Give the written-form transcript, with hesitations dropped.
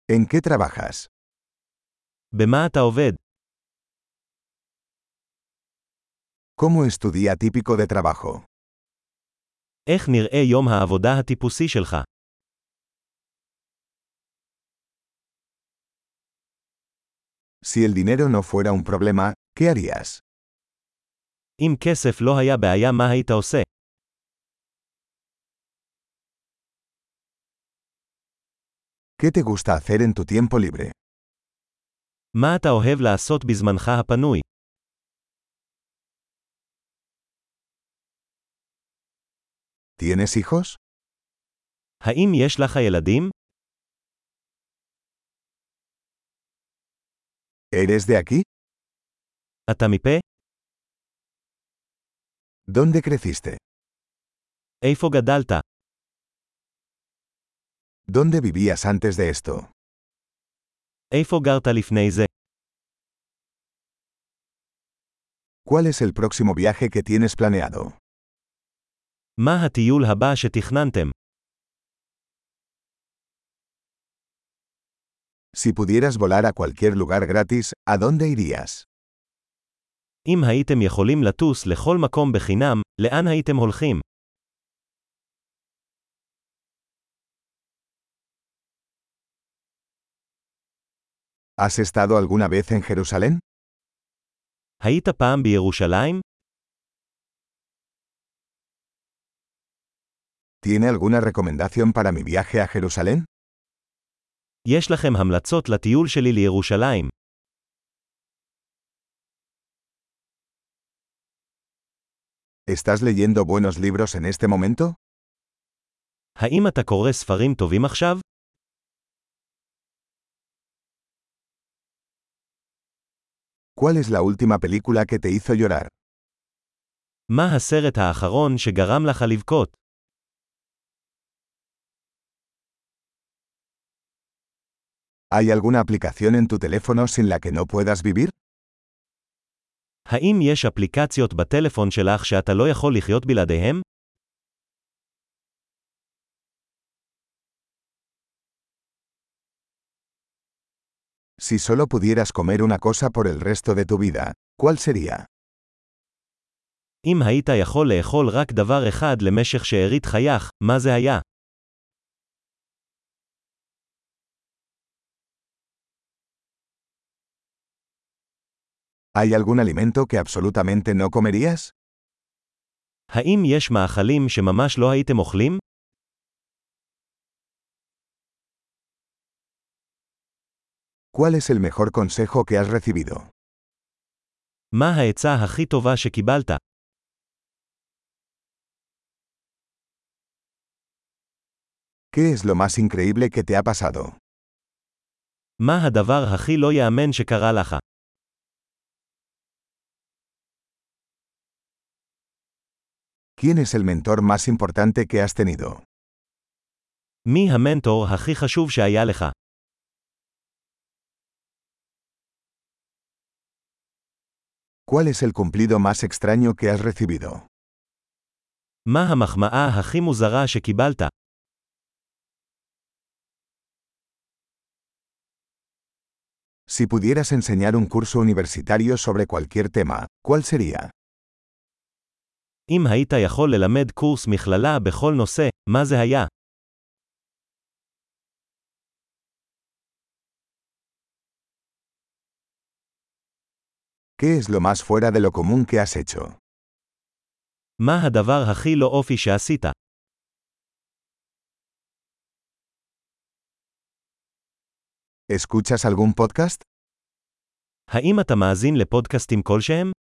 ¿En qué trabajas? במה אתה עובד? ¿Cómo es tu día típico de trabajo? איך נראה יום העבודה הטיפוסי שלך? Si el dinero no fuera un problema, ¿qué harías? אם כסף לא היה בעיה, מה היית עושה? ¿Qué te gusta hacer en tu tiempo libre? מה אתה אוהב לעשות בזמנך הפנוי? ¿Tienes hijos? האם יש לך ילדים? ¿Eres de aquí? אתה מפה? ¿Dónde creciste? איפה גדלת? ¿Dónde vivías antes de esto? איפה גרת לפני זה? ¿Cuál es el próximo viaje que tienes planeado? מה הטיול הבא שתכננתם? Si pudieras volar a cualquier lugar gratis, ¿a dónde irías? אם הייתם יכולים לטוס לכל מקום בחינם, לאן הייתם הולכים? ¿Has estado alguna vez en Jerusalén? היית פעם בירושלים? ¿Tiene alguna recomendación para mi viaje a Jerusalén? יש לכם המלצות לטיול שלי לירושלים. ¿Estás leyendo buenos libros en este momento? האם אתה קורא ספרים טובים עכשיו? ¿Cuál es la última película que te hizo llorar? מה הסרט האחרון שגרם לך לבכות? ¿Hay alguna aplicación en tu teléfono sin la que no puedas vivir? האם יש אפליקציות בטלפון שלך שאתה לא יכול לחיות בלעדיהם? Si solo pudieras comer una cosa por el resto de tu vida, ¿cuál sería? אם היית יכול לאכול רק דבר אחד למשך שארית חייך, מה זה היה? ¿Hay algún alimento que absolutamente no comerías? האם יש מאכלים שממש לא הייתם אוכלים? ¿Cuál es el mejor consejo que has recibido? מה העצה הכי טובה שקיבלת? ¿Qué es lo más increíble que te ha pasado? מה הדבר הכי לא יאמן שקרה לך? ¿Quién es el mentor más importante que has tenido? מי המנטור הכי חשוב שהיה לך? ¿Cuál es el cumplido más extraño que has recibido? מה המחמאה הכי מוזרה שקיבלת? Si pudieras enseñar un curso universitario sobre cualquier tema, ¿cuál sería? אם היית יכול ללמד קורס מכללה בכל נושא, מה זה היה? ¿Qué es lo más fuera de lo común que has hecho? מה הדבר הכי לא אופי שעשית? ¿Escuchas algún podcast? האם אתה מאזין לפודקאסטים כלשהם?